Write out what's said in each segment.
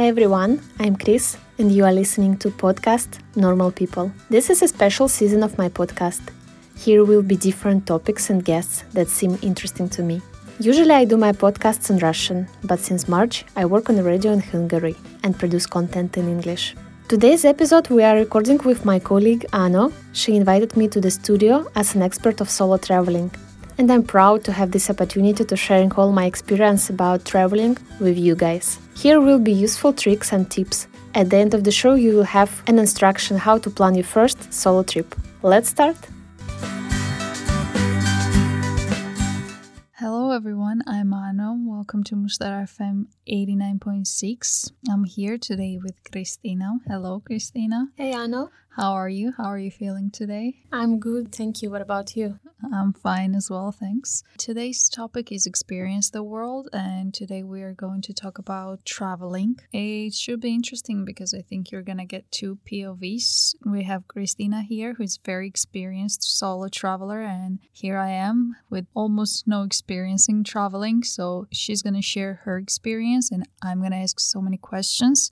everyone, I'm Chris and you are listening to podcast Normal People. This is a special season of my podcast. Here will be different topics and guests that seem interesting to me. Usually I do my podcasts in Russian, but since March I work on the radio in Hungary and produce content in English. Today's episode we are recording with my colleague Ano. She invited me to the studio as an expert of solo traveling. And I'm proud to have this opportunity to sharing all my experience about traveling with you guys. Here will be useful tricks and tips. At the end of the show you will have an instruction how to plan your first solo trip. Let's start! Hello everyone, I'm Ano. Welcome to Mushtar FM 89.6. I'm here today with Kristina. Hello Kristina. Hey Ano. How are you? How are you feeling today? I'm good, thank you. What about you? I'm fine as well, thanks. Today's topic is Experience the World, and today we are going to talk about traveling. It should be interesting because I think you're going to get two POVs. We have Kristina here, who is very experienced solo traveler, and here I am with almost no experience in traveling. So she's going to share her experience, and I'm going to ask so many questions.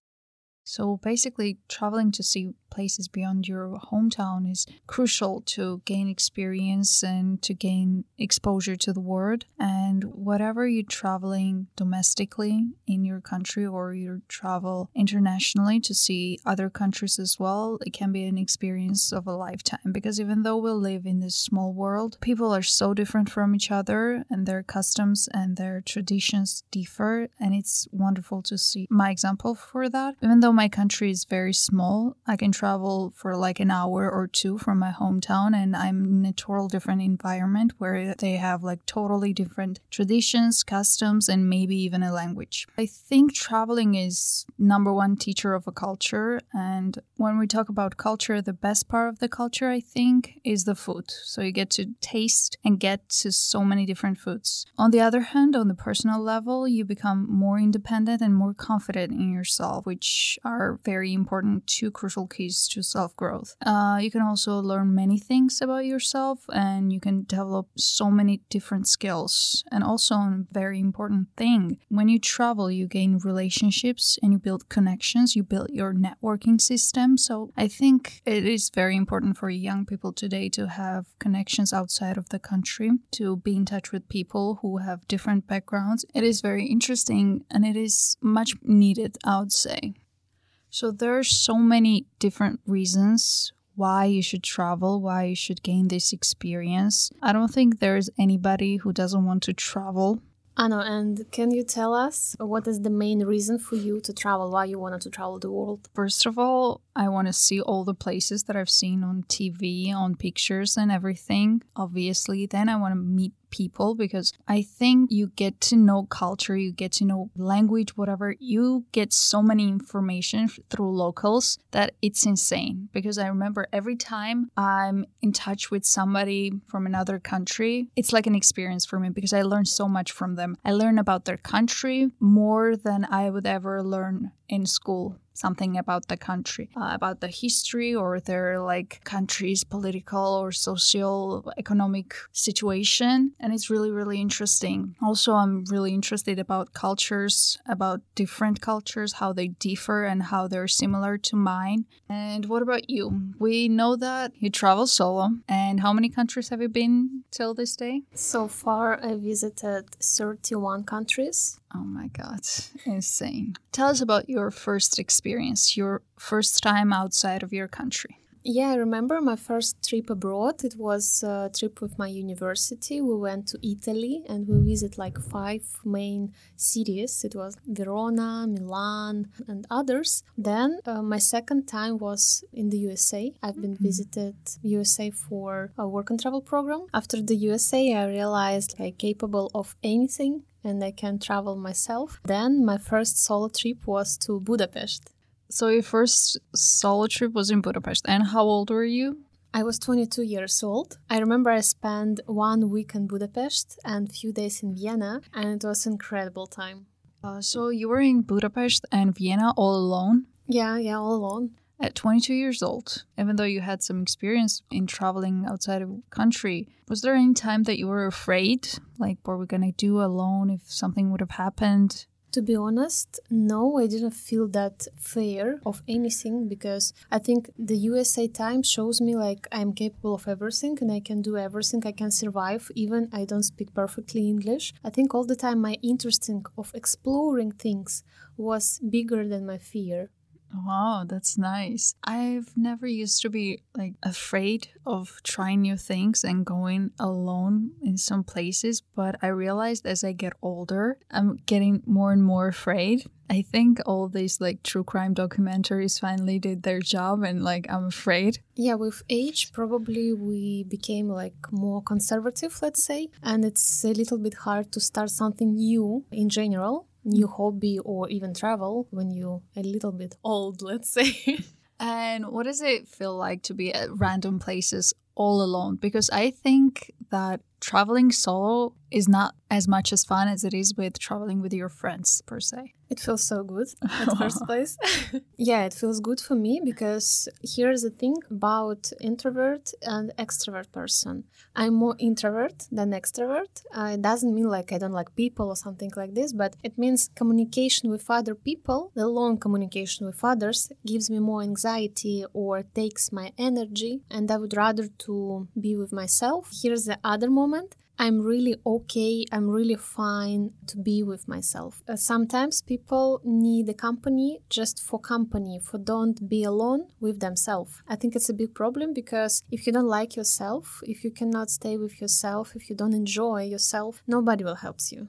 So basically, traveling to see places beyond your hometown is crucial to gain experience and to gain exposure to the world. And whatever you're traveling domestically in your country or you travel internationally to see other countries as well, it can be an experience of a lifetime. Because even though we live in this small world, people are so different from each other and their customs and their traditions differ. And it's wonderful to see my example for that. Even though my country is very small, I can travel for like an hour or two from my hometown and I'm in a total different environment where they have like totally different traditions, customs, and maybe even a language. I think traveling is number one teacher of a culture, and when we talk about culture, the best part of the culture I think is the food. So you get to taste and get to so many different foods. On the other hand, on the personal level, you become more independent and more confident in yourself, which are very important, two crucial keys to self-growth. You can also learn many things about yourself and you can develop so many different skills. And also a very important thing, when you travel, you gain relationships and you build connections, you build your networking system. So I think it is very important for young people today to have connections outside of the country, to be in touch with people who have different backgrounds. It is very interesting and it is much needed, I would say. So there are so many different reasons why you should travel, why you should gain this experience. I don't think there's anybody who doesn't want to travel. Ano, and can you tell us what is the main reason for you to travel, why you wanted to travel the world? First of all, I want to see all the places that I've seen on TV, on pictures and everything, obviously. Then I want to meet people because I think you get to know culture, you get to know language, whatever. You get so many information through locals that it's insane. Because I remember every time I'm in touch with somebody from another country, it's like an experience for me because I learn so much from them. I learn about their country more than I would ever learn in school. Something about the country, about the history or their like country's political or social economic situation. And it's really, really interesting. Also, I'm really interested about cultures, about different cultures, how they differ and how they're similar to mine. And what about you? We know that you travel solo. And how many countries have you been till this day? So far, I visited 31 countries. Oh my God, insane. Tell us about your first experience, your first time outside of your country. Yeah, I remember my first trip abroad. It was a trip with my university. We went to Italy and we visited like 5 main cities. It was Verona, Milan and others. Then my second time was in the USA. I've been visited USA for a work and travel program. After the USA, I realized I'm capable of anything and I can travel myself. Then my first solo trip was to Budapest. So your first solo trip was in Budapest. And how old were you? I was 22 years old. I remember I spent 1 week in Budapest and a few days in Vienna, and it was an incredible time. So you were in Budapest and Vienna all alone? Yeah, all alone. At 22 years old, even though you had some experience in traveling outside of the country, was there any time that you were afraid? Like, what were we going to do alone if something would have happened? To be honest, no, I didn't feel that fear of anything because I think the USA Times shows me like I'm capable of everything and I can do everything. I can survive even I don't speak perfectly English. I think all the time my interest of exploring things was bigger than my fear. Wow, that's nice. I've never used to be like afraid of trying new things and going alone in some places, but I realized as I get older, I'm getting more and more afraid. I think all these like true crime documentaries finally did their job and like I'm afraid. Yeah, with age, probably we became like more conservative, let's say, and it's a little bit hard to start something new in general. New hobby or even travel when you're a little bit old, let's say. And what does it feel like to be at random places all alone? Because I think that traveling solo is not as much as fun as it is with traveling with your friends per se. It feels so good at first place. Yeah, it feels good for me because here's the thing about introvert and extrovert person. I'm more introvert than extrovert. It doesn't mean like I don't like people or something like this, but it means communication with other people, the long communication with others gives me more anxiety or takes my energy, and I would rather to be with myself. Here's the other moment. I'm really okay, I'm really fine to be with myself. Sometimes people need a company just for company, for don't be alone with themselves. I think it's a big problem because if you don't like yourself, if you cannot stay with yourself, if you don't enjoy yourself, nobody will help you.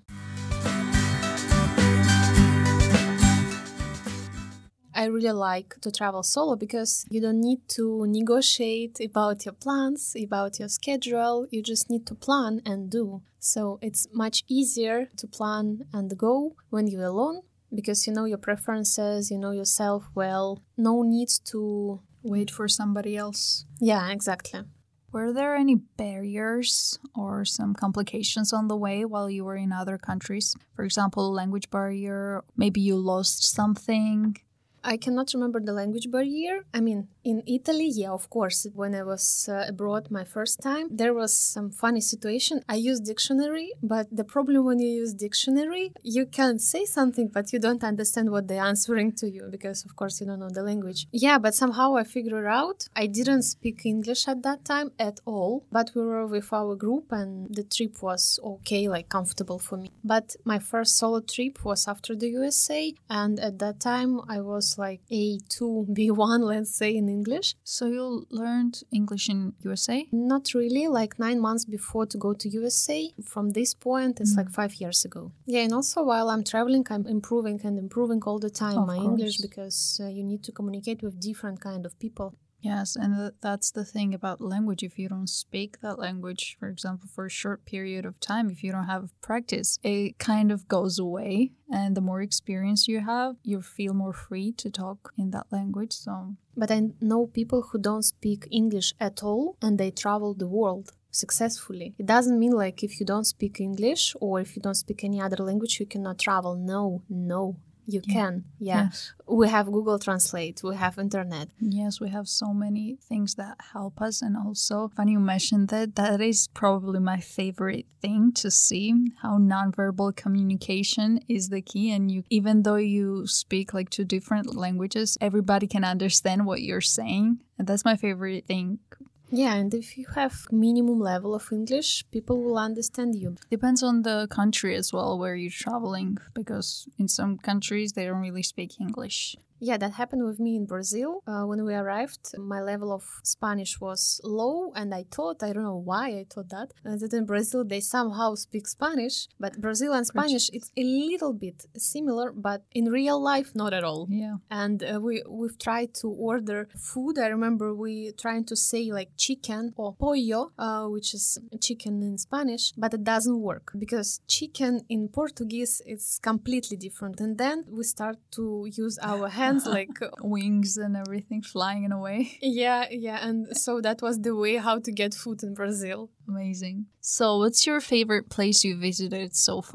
I really like to travel solo because you don't need to negotiate about your plans, about your schedule. You just need to plan and do. So it's much easier to plan and go when you're alone because you know your preferences, you know yourself well. No need to wait for somebody else. Yeah, exactly. Were there any barriers or some complications on the way while you were in other countries? For example, language barrier, maybe you lost something? I cannot remember the language barrier. I mean, in Italy, yeah, of course. When I was abroad my first time, there was some funny situation. I used dictionary, but the problem when you use dictionary, you can say something, but you don't understand what they're answering to you because, of course, you don't know the language. Yeah, but somehow I figured out. I didn't speak English at that time at all, but we were with our group and the trip was okay, like comfortable for me. But my first solo trip was after the USA, and at that time I was like A2, B1, let's say, in English. So you learned English in USA? Not really, like 9 months before to go to USA. From this point, it's like 5 years ago. Yeah, and also while I'm traveling, I'm improving all the time my English because you need to communicate with different kind of people. Yes, and that's the thing about language. If you don't speak that language, for example, for a short period of time, if you don't have practice, it kind of goes away. And the more experience you have, you feel more free to talk in that language. But I know people who don't speak English at all and they travel the world successfully. It doesn't mean like if you don't speak English or if you don't speak any other language, you cannot travel. No. You can, yeah. Yes. We have Google Translate, we have internet. Yes, we have so many things that help us. And also, funny you mentioned that is probably my favorite thing to see, how nonverbal communication is the key. And you, even though you speak like 2 different languages, everybody can understand what you're saying. And that's my favorite thing. Yeah, and if you have minimum level of English, people will understand you. Depends on the country as well where you're traveling, because in some countries they don't really speak English. Yeah, that happened with me in Brazil. When we arrived, my level of Spanish was low, and I don't know why I thought that in Brazil they somehow speak Spanish, but Brazil and Spanish, it's a little bit similar, but in real life, not at all. Yeah. And we've tried to order food. I remember we trying to say like chicken or pollo, which is chicken in Spanish, but it doesn't work because chicken in Portuguese is completely different. And then we start to use our hands like wings and everything flying away. Yeah, and so that was the way how to get food in Brazil. Amazing. So what's your favorite place you visited so far?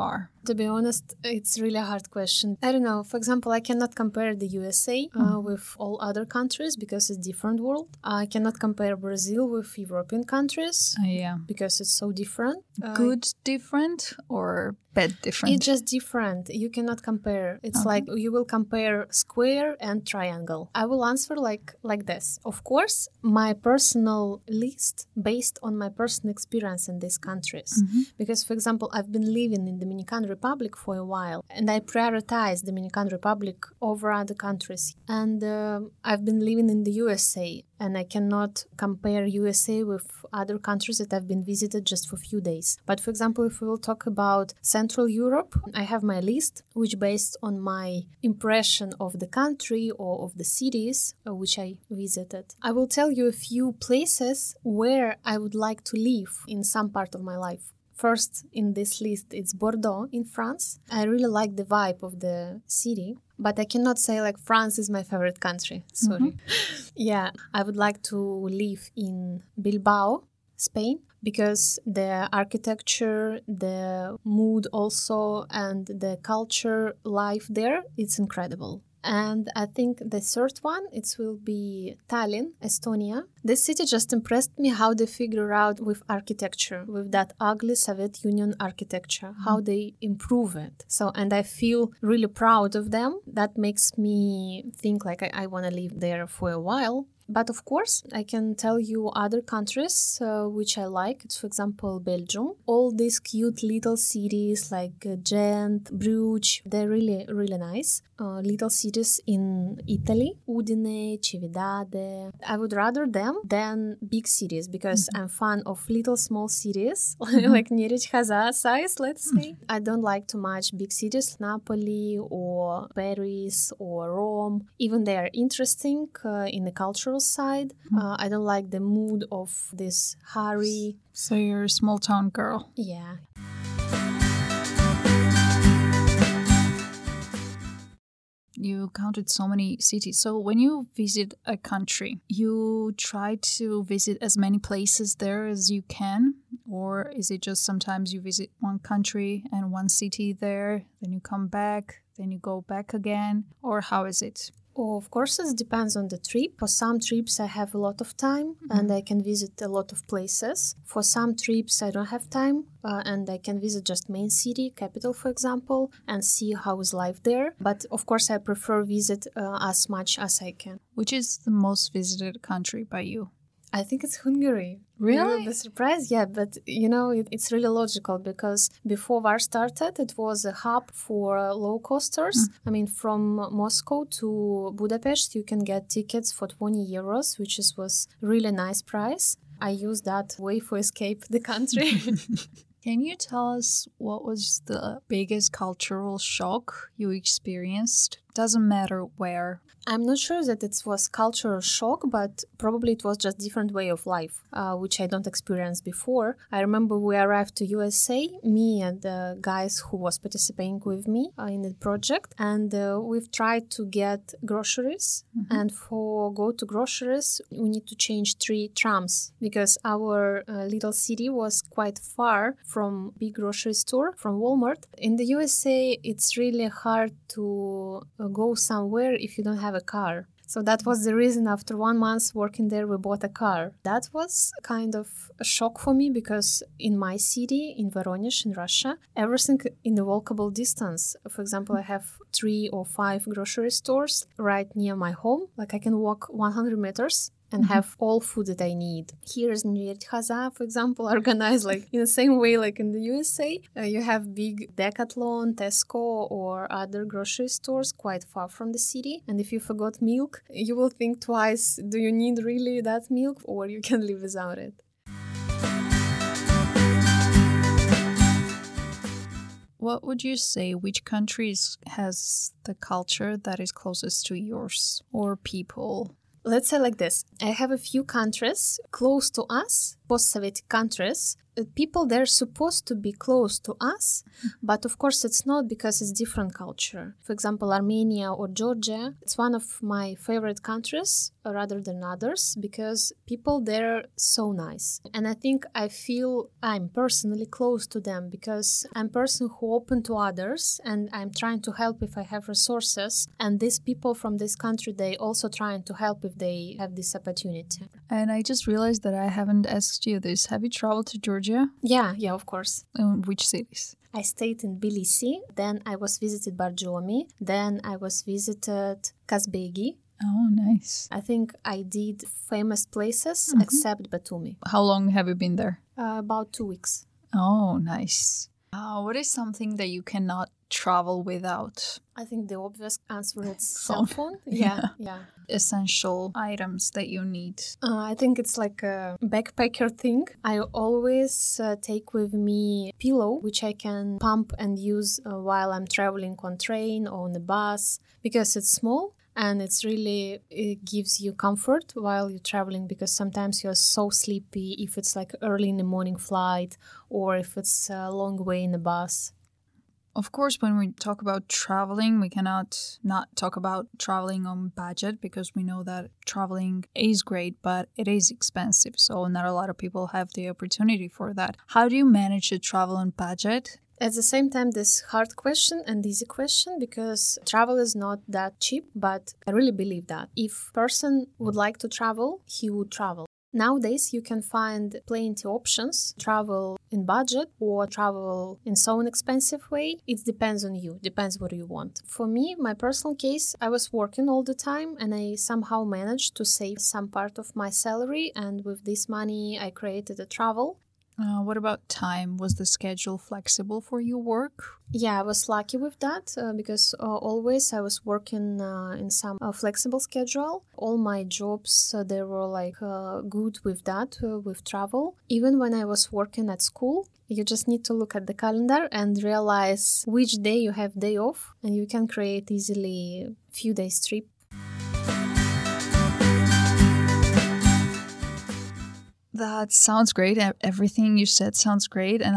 To be honest, it's really a hard question. I don't know. For example, I cannot compare the USA with all other countries because it's a different world. I cannot compare Brazil with European countries because it's so different. Good different or bad different? It's just different. You cannot compare. It's like you will compare square and triangle. I will answer like this. Of course, my personal list based on my personal experience in these countries. Because, for example, I've been living in Dominican Republic for a while and I prioritize Dominican Republic over other countries. And I've been living in the USA and I cannot compare USA with other countries that I've been visited just for a few days. But for example, if we will talk about Central Europe, I have my list, which based on my impression of the country or of the cities which I visited. I will tell you a few places where I would like to live in some part of my life. First in this list, it's Bordeaux in France. I really like the vibe of the city, but I cannot say like France is my favorite country. Sorry. Yeah, I would like to live in Bilbao, Spain, because the architecture, the mood also, and the culture life there, it's incredible. And I think the third one, it will be Tallinn, Estonia. This city just impressed me how they figure out with architecture, with that ugly Soviet Union architecture, how they improve it. So, and I feel really proud of them. That makes me think like I want to live there for a while. But of course, I can tell you other countries which I like. It's, for example, Belgium. All these cute little cities like Ghent, Bruges, they're really, really nice. Little cities in Italy, Udine, Cividade. I would rather them than big cities because I'm fan of little small cities like Nyíregyháza Haza size, let's say. I don't like too much big cities, Napoli or Paris or Rome. Even they are interesting in the cultural side. I don't like the mood of this hurry. So you're a small town girl. Yeah. You counted so many cities. So when you visit a country, you try to visit as many places there as you can? Or is it just sometimes you visit one country and one city there, then you come back, then you go back again? Or how is it? Oh, of course, it depends on the trip. For some trips, I have a lot of time and I can visit a lot of places. For some trips, I don't have time and I can visit just main city, capital, for example, and see how is life there. But of course, I prefer visit as much as I can. Which is the most visited country by you? I think it's Hungary. Really? You will be surprised, yeah, but you know, it's really logical because before war started, it was a hub for low costers. I mean, from Moscow to Budapest, you can get tickets for 20 euros, which was really nice price. I used that way for escape the country. Can you tell us what was the biggest cultural shock you experienced? Doesn't matter where. I'm not sure that it was cultural shock, but probably it was just different way of life, which I don't experience before. I remember we arrived to USA, me and the guys who was participating with me in the project, and we've tried to get groceries. And for go to groceries, we need to change 3 trams because our little city was quite far from big grocery store, from Walmart. In the USA, it's really hard to go somewhere if you don't have a car. So that was the reason after 1 month working there, we bought a car. That was kind of a shock for me because in my city, in Voronezh, in Russia, everything in the walkable distance. For example, I have 3 or 5 grocery stores right near my home. Like I can walk 100 meters and have all food that I need. Here is Nyíregyháza Haza, for example, organized like in the same way like in the USA. You have big Decathlon, Tesco or other grocery stores quite far from the city. And if you forgot milk, you will think twice, do you need really that milk or you can live without it? What would you say, which countries has the culture that is closest to yours or people? Let's say like this. I have a few countries close to us, post-Soviet countries, people, they're supposed to be close to us, but of course it's not, because it's different culture. For example, Armenia or Georgia, it's one of my favorite countries rather than others, because people there are so nice. And I think I feel I'm personally close to them, because I'm a person who open to others and I'm trying to help if I have resources. And these people from this country, they also trying to help if they have this opportunity. And I just realized that I haven't asked you this. Have you traveled to Georgia? Yeah, of course. In which cities? I stayed in Tbilisi, then I was visited Barjomi, then I was visited Kazbegi. Oh, nice. I think I did famous places except Batumi. How long have you been there? About 2 weeks. Oh, nice. What is something that you cannot travel without? I think the obvious answer is cell phone. Yeah. Essential items that you need. I think it's like a backpacker thing. I always take with me pillow, which I can pump and use while I'm traveling on train or on the bus, because it's small. And it gives you comfort while you're traveling, because sometimes you're so sleepy if it's like early in the morning flight or if it's a long way in the bus. Of course, when we talk about traveling, we cannot not talk about traveling on budget, because we know that traveling is great, but it is expensive. So not a lot of people have the opportunity for that. How do you manage to travel on budget? At the same time, this hard question and easy question, because travel is not that cheap, but I really believe that if a person would like to travel, he would travel. Nowadays, you can find plenty options, travel in budget or travel in so inexpensive way. It depends on you, depends what you want. For me, my personal case, I was working all the time and I somehow managed to save some part of my salary, and with this money, I created a travel. What about time? Was the schedule flexible for your work? Yeah, I was lucky with that because always I was working in some flexible schedule. All my jobs, they were like good with that, with travel. Even when I was working at school, you just need to look at the calendar and realize which day you have day off, and you can create easily a few days trip. That sounds great. Everything you said sounds great. And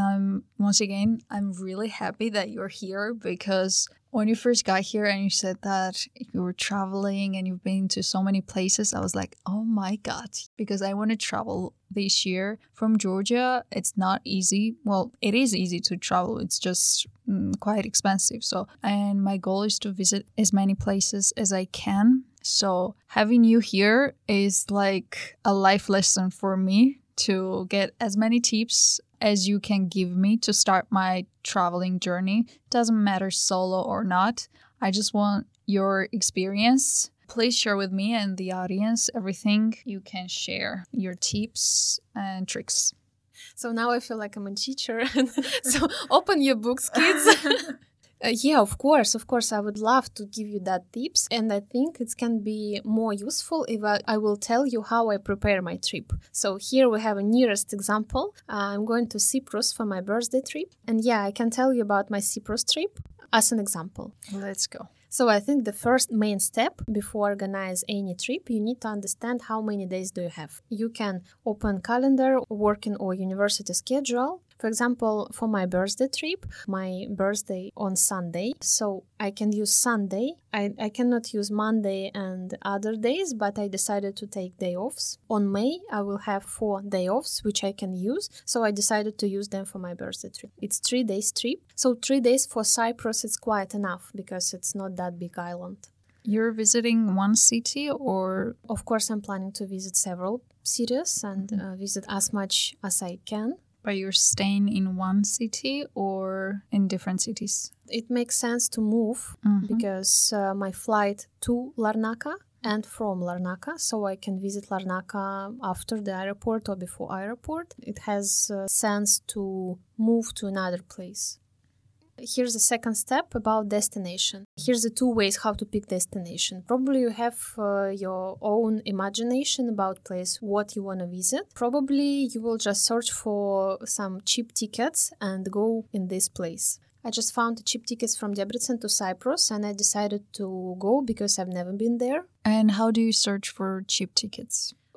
I'm really happy that you're here, because when you first got here and you said that you were traveling and you've been to so many places, I was like, oh my God, because I want to travel this year. From Georgia, it's not easy. Well, it is easy to travel. It's just quite expensive. And my goal is to visit as many places as I can. So having you here is like a life lesson for me, to get as many tips as you can give me to start my traveling journey. Doesn't matter solo or not. I just want your experience. Please share with me and the audience everything you can share, your tips and tricks. So now I feel like I'm a teacher. So open your books, kids. Yeah, of course, I would love to give you that tips, and I think it can be more useful if I will tell you how I prepare my trip. So here we have a nearest example. I'm going to Cyprus for my birthday trip, and yeah, I can tell you about my Cyprus trip as an example. Let's go. So I think the first main step before organize any trip, you need to understand how many days do you have. You can open calendar, working or university schedule. For example, for my birthday trip, my birthday on Sunday, so I can use Sunday. I cannot use Monday and other days, but I decided to take day offs. On May, I will have 4 day offs, which I can use, so I decided to use them for my birthday trip. It's 3 days trip, so 3 days for Cyprus is quite enough because it's not that big island. You're visiting one city, or? Of course, I'm planning to visit several cities and visit as much as I can. But you're staying in one city or in different cities? It makes sense to move because my flight to Larnaca and from Larnaca, so I can visit Larnaca after the airport or before airport. It has sense to move to another place. Here's the second step about destination. Here's the 2 ways how to pick destination. Probably you have your own imagination about place, what you want to visit. Probably you will just search for some cheap tickets and go in this place. I just found the cheap tickets from Debrecen to Cyprus and I decided to go because I've never been there. And how do you search for cheap tickets?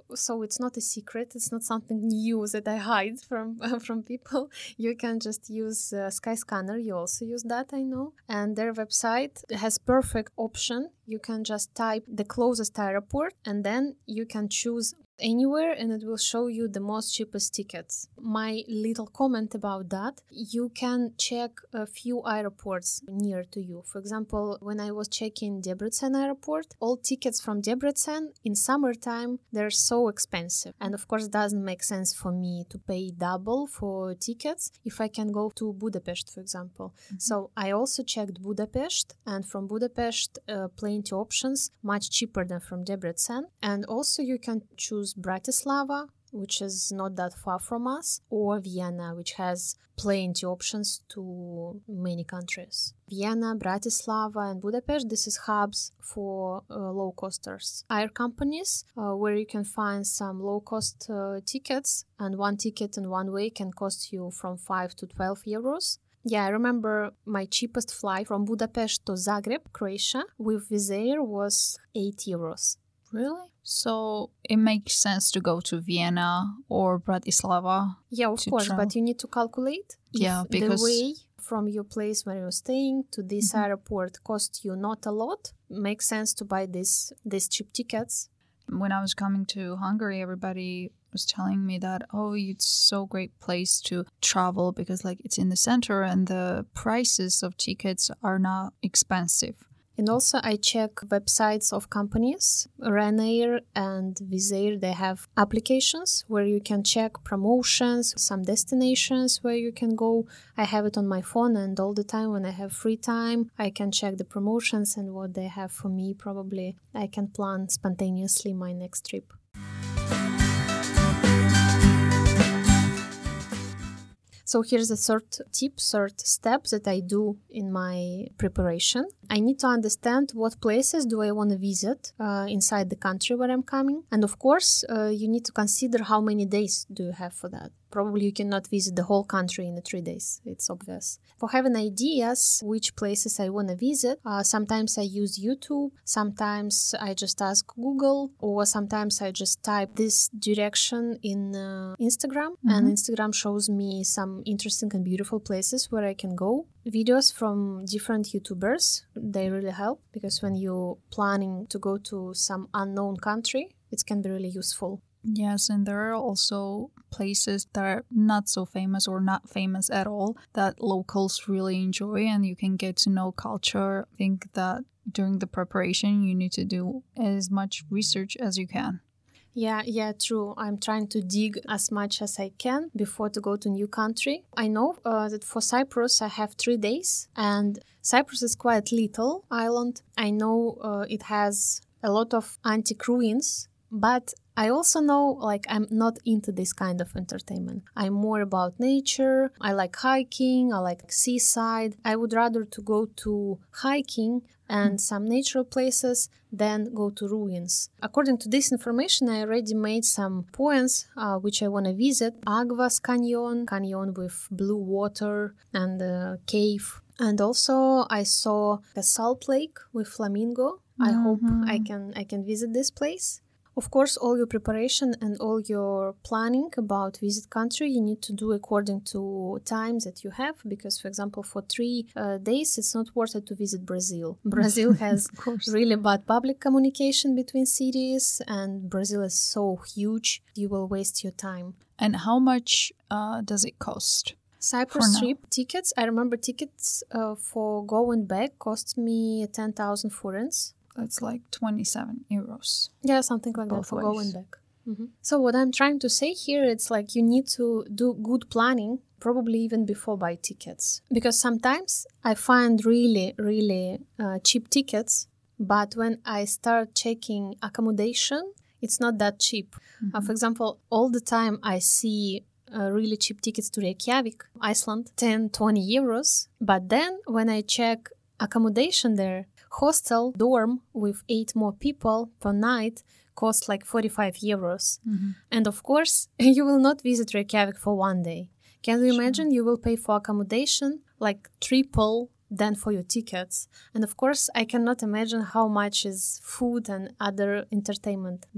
so it's not a secret. It's not something new that I hide from people. You can just use Skyscanner. You also use that, I know. And their website has perfect option. You can just type the closest airport, and then you can choose anywhere, and it will show you the most cheapest tickets. My little comment about that, you can check a few airports near to you. For example, when I was checking Debrecen airport, all tickets from Debrecen in summertime, they're so expensive. And of course, it doesn't make sense for me to pay double for tickets if I can go to Budapest, for example. So I also checked Budapest, and from Budapest, plenty options, much cheaper than from Debrecen. And also you can choose Bratislava, which is not that far from us, or Vienna, which has plenty options to many countries. Vienna, Bratislava, and Budapest, this is hubs for low-costers. Air companies, where you can find some low-cost tickets, and one ticket in one way can cost you from 5 to 12 euros. Yeah, I remember my cheapest flight from Budapest to Zagreb, Croatia, with Wizz Air was 8 euros. Really? So it makes sense to go to Vienna or Bratislava. Yeah, of course, but you need to calculate if because the way from your place where you're staying to this airport cost you not a lot. Makes sense to buy these cheap tickets. When I was coming to Hungary, everybody was telling me that, oh, it's so great place to travel because like it's in the center and the prices of tickets are not expensive. And also I check websites of companies. Ryanair and Wizz Air, they have applications where you can check promotions, some destinations where you can go. I have it on my phone, and all the time when I have free time, I can check the promotions and what they have for me. Probably I can plan spontaneously my next trip. So here's the third step that I do in my preparation. I need to understand what places do I want to visit inside the country where I'm coming. And of course, you need to consider how many days do you have for that. Probably you cannot visit the whole country in 3 days. It's obvious. For having ideas which places I want to visit, sometimes I use YouTube, sometimes I just ask Google, or sometimes I just type this direction in Instagram, and Instagram shows me some interesting and beautiful places where I can go. Videos from different YouTubers, they really help, because when you're planning to go to some unknown country, it can be really useful. Yes, and there are also places that are not so famous or not famous at all that locals really enjoy, and you can get to know culture. I think that during the preparation, you need to do as much research as you can. Yeah, true. I'm trying to dig as much as I can before to go to new country. I know that for Cyprus, I have 3 days, and Cyprus is quite little island. I know it has a lot of antique ruins, but I also know, like, I'm not into this kind of entertainment. I'm more about nature. I like hiking. I like seaside. I would rather to go to hiking and some natural places than go to ruins. According to this information, I already made some points which I want to visit. Agvas canyon with blue water and a cave. And also I saw a salt lake with flamingo. I hope I can visit this place. Of course, all your preparation and all your planning about visit country, you need to do according to time that you have. Because, for example, for 3 days, it's not worth it to visit Brazil. Brazil has really bad public communication between cities, and Brazil is so huge, you will waste your time. And how much does it cost? Cyprus trip tickets, I remember tickets for going back cost me 10,000 forints. That's like 27 euros. Yeah, something like that for going back. So what I'm trying to say here, it's like you need to do good planning, probably even before buy tickets. Because sometimes I find really, really cheap tickets, but when I start checking accommodation, it's not that cheap. For example, all the time I see really cheap tickets to Reykjavik, Iceland, 10, 20 euros. But then when I check accommodation there, hostel dorm with 8 more people per night costs like 45 euros. And of course, you will not visit Reykjavik for 1 day. Can you imagine? You will pay for accommodation like triple than for your tickets. And of course, I cannot imagine how much is food and other entertainment there.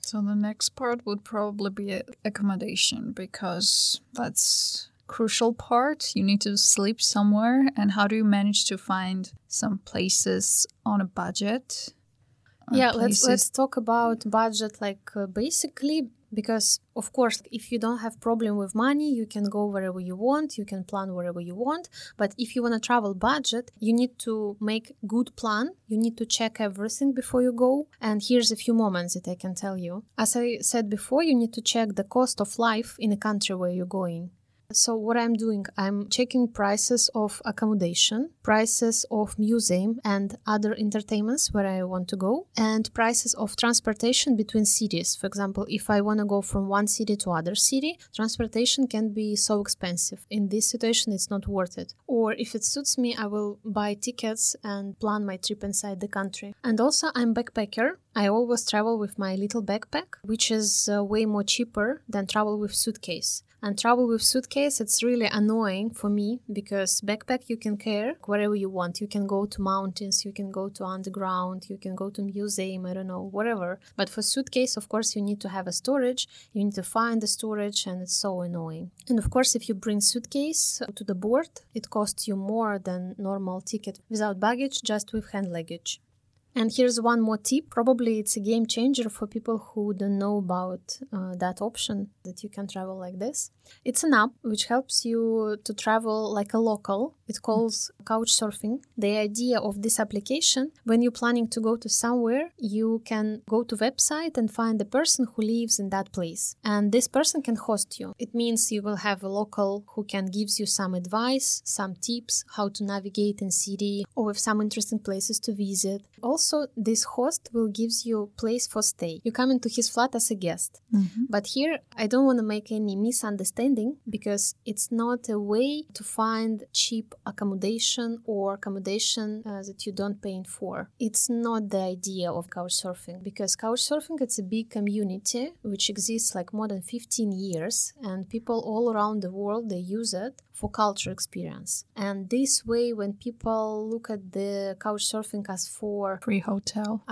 So the next part would probably be accommodation, because that's crucial part. You need to sleep somewhere, and how do you manage to find some places on a budget? Yeah, let's talk about budget, basically, because of course if you don't have problem with money, you can go wherever you want, you can plan wherever you want. But if you want to travel budget, you need to make good plan, you need to check everything before you go. And here's a few moments that I can tell you. As I said before, you need to check the cost of life in the country where you're going. So what I'm doing, I'm checking prices of accommodation, prices of museum and other entertainments where I want to go, and prices of transportation between cities. For example, if I want to go from one city to other city, transportation can be so expensive. In this situation, it's not worth it. Or if it suits me, I will buy tickets and plan my trip inside the country. And also, I'm backpacker. I always travel with my little backpack, which is way more cheaper than travel with suitcase. And travel with suitcase, it's really annoying for me because backpack you can carry wherever you want. You can go to mountains, you can go to underground, you can go to museum, I don't know, whatever. But for suitcase, of course, you need to have a storage. You need to find the storage, and it's so annoying. And of course, if you bring suitcase to the board, it costs you more than normal ticket without baggage, just with hand luggage. And here's one more tip. Probably it's a game changer for people who don't know about that option, that you can travel like this. It's an app which helps you to travel like a local. It calls Couchsurfing. The idea of this application, when you're planning to go to somewhere, you can go to website and find the person who lives in that place. And this person can host you. It means you will have a local who can gives you some advice, some tips, how to navigate in city, or with some interesting places to visit. Also, this host will gives you place for stay. You come into his flat as a guest. Mm-hmm. But here, I don't want to make any misunderstanding, because it's not a way to find cheap accommodation or accommodation that you don't pay for. It's not the idea of Couchsurfing, because Couchsurfing, it's a big community which exists like more than 15 years, and people all around the world, they use it for culture experience. And this way, when people look at the Couchsurfing as for free hotel,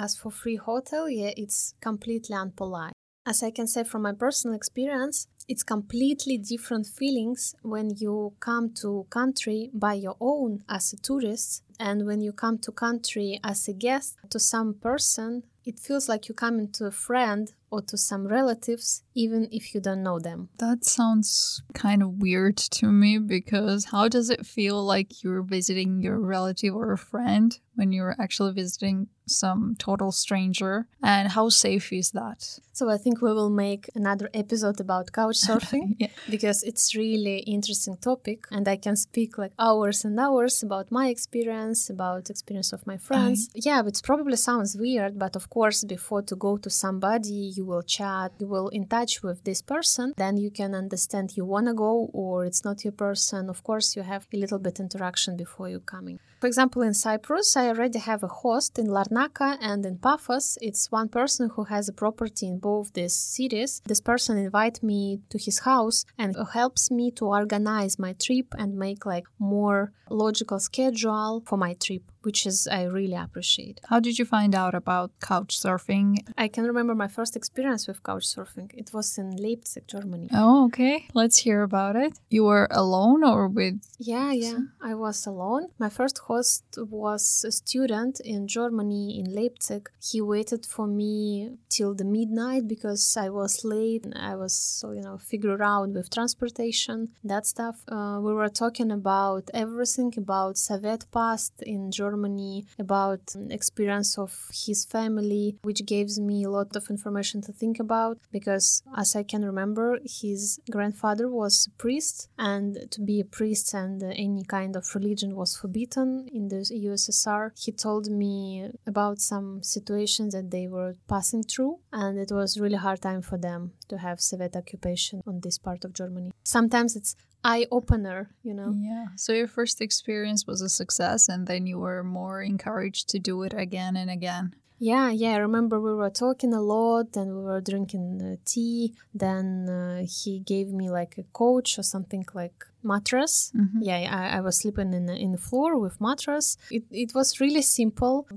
yeah, it's completely unpolite. As I can say from my personal experience, it's completely different feelings when you come to country by your own as a tourist, and when you come to country as a guest to some person, it feels like you come into a friend or to some relatives, even if you don't know them. That sounds kind of weird to me, because how does it feel like you're visiting your relative or a friend when you're actually visiting some total stranger? And how safe is that? So I think we will make another episode about Couchsurfing, yeah. Because it's really interesting topic, and I can speak like hours and hours about my experience, about experience of my friends. Yeah, it probably sounds weird, but of course, before to go to somebody, you will chat, you will in touch with this person, then you can understand you want to go or it's not your person. Of course, you have a little bit interaction before you coming. For example, in Cyprus, I already have a host in Larnaca and in Paphos. It's one person who has a property in both these cities. This person invites me to his house and helps me to organize my trip and make like more logical schedule for my trip, which is I really appreciate. How did you find out about Couchsurfing? I can remember my first experience with Couchsurfing. It was in Leipzig, Germany. Oh, okay. Let's hear about it. You were alone or with... Yeah. I was alone. My first host was a student in Germany, in Leipzig. He waited for me till the midnight because I was late. I was, figure out with transportation, that stuff. We were talking about everything, about Soviet past in Germany, about experience of his family, which gives me a lot of information to think about, because as I can remember, his grandfather was a priest, and to be a priest and any kind of religion was forbidden in the USSR. He told me about some situations that they were passing through, and it was really hard time for them to have Soviet occupation on this part of Germany. Sometimes it's eye-opener, Yeah. So your first experience was a success, and then you were more encouraged to do it again and again. Yeah. I remember we were talking a lot and we were drinking tea. Then he gave me like a couch or something like mattress. Mm-hmm. Yeah, I was sleeping in the floor with mattress. It was really simple, but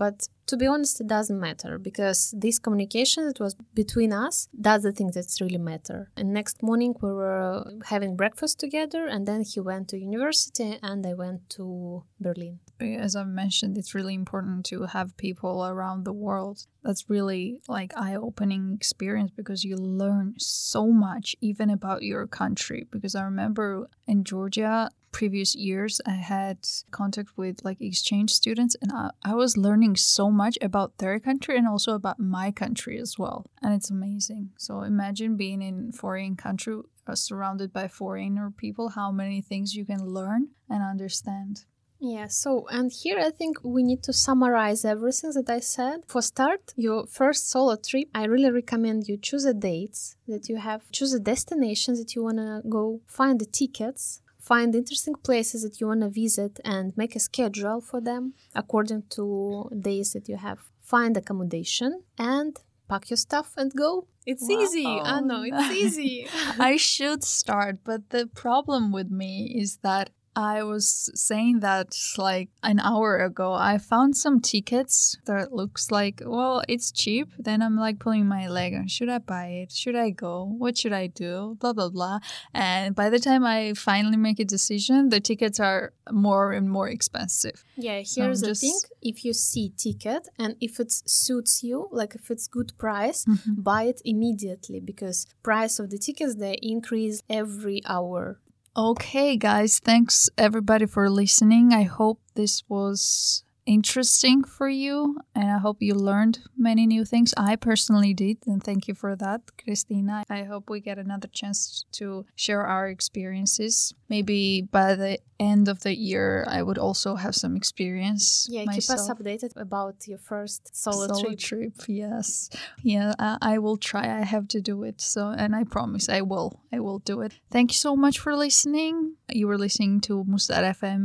To be honest, it doesn't matter because this communication that was between us, that's the thing that's really matter. And next morning we were having breakfast together, and then he went to university and I went to Berlin. As I've mentioned, it's really important to have people around the world. That's really like eye-opening experience because you learn so much even about your country. Because I remember in Georgia, previous years, I had contact with like exchange students, and I was learning so much about their country and also about my country as well. And it's amazing. So imagine being in a foreign country surrounded by foreigner people, how many things you can learn and understand. Yeah, so, and here I think we need to summarize everything that I said. For start, your first solo trip, I really recommend you choose the dates that you have, choose the destinations that you want to go, find the tickets, find interesting places that you want to visit and make a schedule for them according to days that you have. Find accommodation and pack your stuff and go. It's easy. I know, it's easy. I should start, but the problem with me is that I was saying that like an hour ago. I found some tickets that looks like, well, it's cheap. Then I'm like pulling my leg. Should I buy it? Should I go? What should I do? Blah, blah, blah. And by the time I finally make a decision, the tickets are more and more expensive. Yeah, here's the thing. If you see ticket and if it suits you, like if it's good price, buy it immediately because price of the tickets, they increase every hour. Okay, guys, thanks everybody for listening. I hope this was interesting for you and I hope you learned many new things. I personally did, and thank you for that, Christina. I hope we get another chance to share our experiences. Maybe by the end of the year, I would also have some experience. Yeah, myself. Keep us updated about your first solo trip. Yes. Yeah, I will try. I have to do it. So, and I promise I will do it. Thank you so much for listening. You were listening to Mustar FM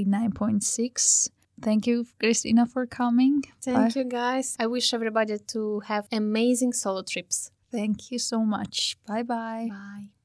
89.6. Thank you, Christina, for coming. Thank you, guys. I wish everybody to have amazing solo trips. Thank you so much. Bye-bye. Bye.